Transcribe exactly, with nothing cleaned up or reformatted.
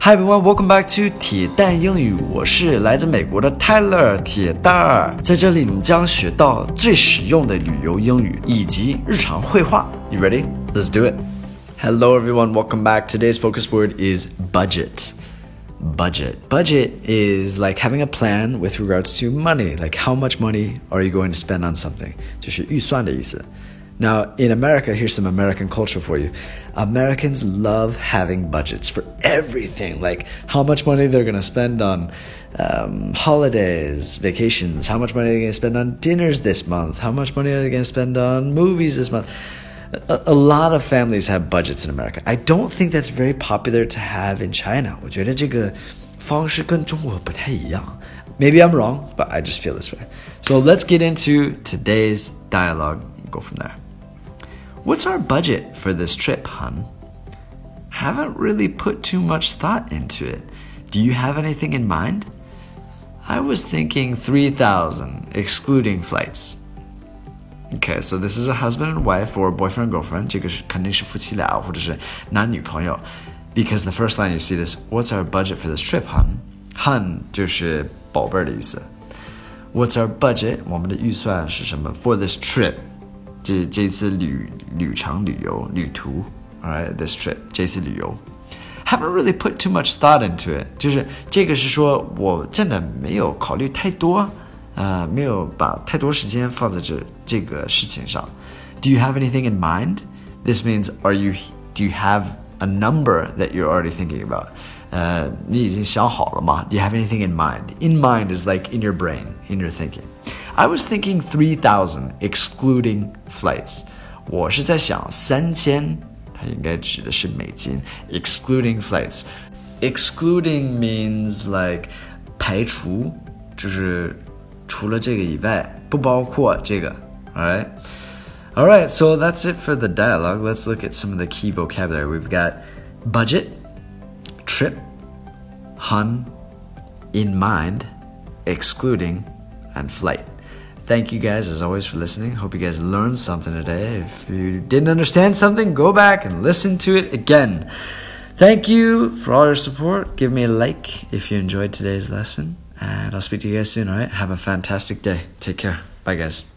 Hi everyone, welcome back to 铁蛋英语，我是来自美国的 Tyler 铁蛋儿，在这里你将学到最实用的旅游英语以及日常会话。You ready? Let's do it. Hello everyone, welcome back. Today's focus word is budget. Budget. Budget is like having a plan with regards to money. Like how much money are you going to spend on something? 就是预算的意思。Now, in America, here's some American culture for you. Americans love having budgets for everything, like how much money they're going to spend on um, holidays, vacations, how much money they're going to spend on dinners this month, how much money are they going to spend on movies this month. A, a lot of families have budgets in America. I don't think that's very popular to have in China. 我觉得这个方式跟中国不太一样. Maybe I'm wrong, but I just feel this way. So let's get into today's dialogue and go from there.What's our budget for this trip, hun? Haven't really put too much thought into it. Do you have anything in mind? I was thinking three thousand, excluding flights. Okay, so this is a husband and wife or boyfriend and girlfriend. 这个是肯定是夫妻俩或者是男女朋友 Because the first line you see this, what's our budget for this trip, hun? Hun 就是宝贝儿的意思。What's our budget? 我们的预算是什么 for this trip?这这次旅旅程旅游旅途 alright this trip 这次旅游 haven't really put too much thought into it 就是这个是说我真的没有考虑太多呃没有把太多时间放在这这个事情上 Do you have anything in mind? This means are you do you have a number that you're already thinking about 呃你已经想好了吗 Do you have anything in mind? In mind is like in your brain in your thinking.I was thinking three thousand, excluding flights. 我是在想三千，它应该指的是美金 excluding flights. Excluding means like 排除，就是除了这个以外，不包括这个 Alright? Alright, so that's it for the dialogue. Let's look at some of the key vocabulary. We've got budget, trip, hun, in mind, excluding, and flight.Thank you guys as always for listening. Hope you guys learned something today. If you didn't understand something, go back and listen to it again. Thank you for all your support. Give me a like if you enjoyed today's lesson. And I'll speak to you guys soon, alright? Have a fantastic day. Take care. Bye guys.